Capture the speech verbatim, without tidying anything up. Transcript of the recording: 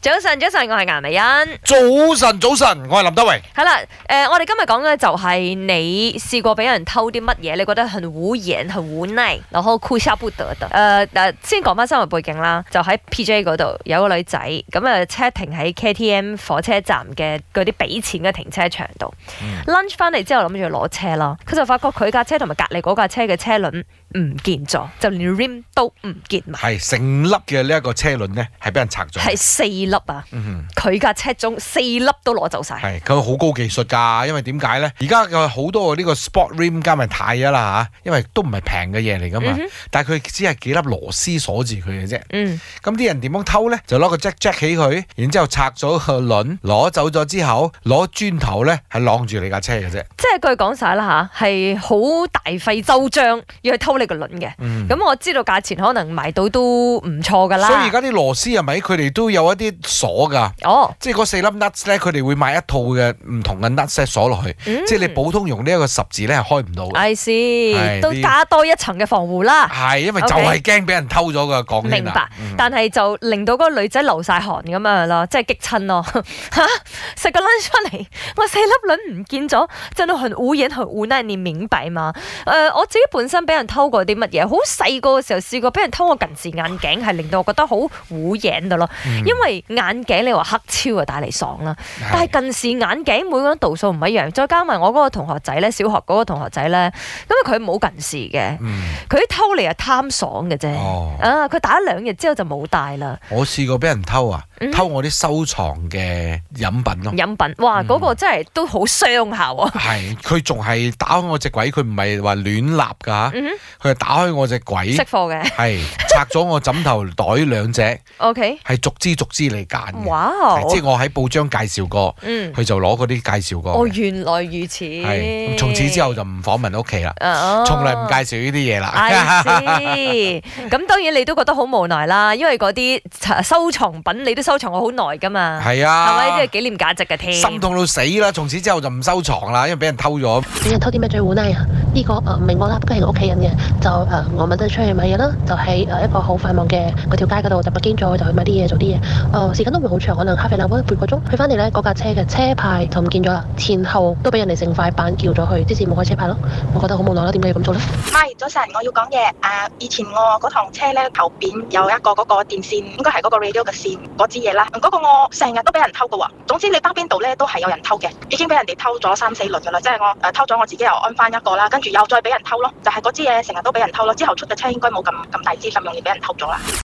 早晨，早晨，我係顏美欣。 早晨，早晨，我係林德榮。 係啦，誒、呃，我哋今日講嘅就係你試過俾人偷啲乜嘢，你覺得很無言、很無奈，然後哭笑不得的。誒、呃、誒，先講翻生活背景啦，就喺 P J 嗰度有個女仔，咁啊車停喺 K T M 火車站嘅嗰啲俾錢嘅停車場度。嗯、lunch 翻嚟之後諗住攞車啦，佢就發覺佢架車同埋隔離嗰架車嘅車輪唔見咗，就連 rim 都唔見埋。 係成粒嘅呢一個車輪咧，係俾人拆咗。 係四粒啊！佢架、嗯、車中四粒都攞走晒。係佢好高技術㗎，因為點解咧？而家有好多呢個 sport rim 加埋太啊啦嚇，因為都唔係平嘅嘢嚟㗎嘛。嗯、哼但係佢只係幾粒螺絲鎖住佢嘅啫。嗯。咁啲人點樣偷咧？就攞個 jack jack 起佢，然之後拆咗個輪，攞走咗之後，攞磚頭咧係晾住你架車嘅啫。 即係據講晒啦嚇，係好大費周章要去偷你個輪嘅。咁、嗯、我知道價錢可能賣到都唔錯㗎啦。 所以而家啲螺絲係咪佢哋都有一啲鎖㗎？哦，即係嗰四粒 nuts 咧，佢哋會買一套嘅唔同嘅 nuts 鎖落去，嗯、即係你普通用呢一個十字咧係開唔到。I see，都加多一層嘅防護啦。係， 因為就係驚俾人偷咗㗎，講 Okay. 明白，嗯、但係就令到嗰個女仔流晒汗咁樣咯，即係激親咯。嚇，食個 lunch 出嚟，我四粒輪唔見咗，真係很無言、很無奈，你明白嘛？誒、呃，我自己本身俾人偷過啲乜嘢？好細個嘅時候試過俾人偷我近視眼鏡，係令到我覺得好無言嘅咯。嗯、因為眼鏡你話黑超啊帶嚟爽啦，是但係近視眼鏡每個人度數唔一樣，再加埋我嗰個同學仔咧，小學嗰個同學仔咧，因為佢冇近視嘅，佢、嗯、偷嚟係貪爽嘅啫。哦、啊，佢打咗兩日之後就冇戴啦。 我試過俾人偷啊，嗯、偷我啲收藏嘅飲品咯。 飲品，哇，嗰、嗯、個真係都好傷下喎。係， 佢仲係打開我隻櫃，佢唔係話亂立㗎，佢係、嗯、打開我隻櫃， 識貨嘅， 係拆咗我枕頭袋兩隻。O K， 係逐支逐支嚟揀嘅。哇！即係我喺報章介紹過，佢、嗯、就攞嗰啲介紹過。 哦，原來如此。 係，從此之後就唔訪問屋企啦，從來唔介紹呢啲嘢啦。 係，咁當然你都覺得好無奈啦，因為嗰啲收藏品你都收藏過好耐噶嘛。係啊，係咪呢啲係紀念價值嘅添？ 心痛到死啦！從此之後就唔收藏啦，因為俾人偷咗。 俾人偷啲咩最無奈啊？呢、這個誒唔係我啦，不過係我屋企人嘅。就誒、呃、我問得出去買嘢啦，就喺誒一個好繁忙嘅嗰條街嗰度，就北京咗就去買啲嘢做啲嘢。誒、呃、時間都唔會好長，可能half an hour半個鐘。去翻嚟咧，嗰架車嘅車牌就唔見咗啦，前後都俾人哋成塊板撬咗去，即是冇開車牌咯。我覺得好無奈啦，點解要咁做咧？ 係早晨，我要講嘢。誒、呃，以前我嗰趟車咧後邊有一個嗰個電線，應該係嗰個 radio 嘅線嗰支嘢啦。嗰、那個我成日都俾人偷嘅喎。總之你包邊度咧都係有人偷嘅，已經俾人哋偷咗三四輪嘅啦。即係我誒、呃、偷咗我自己又安翻一個啦，跟住又再俾人偷咯。就係嗰支嘢成日都俾人偷咯。之後出嘅車應該冇咁咁大支咁容易俾人偷咗啦。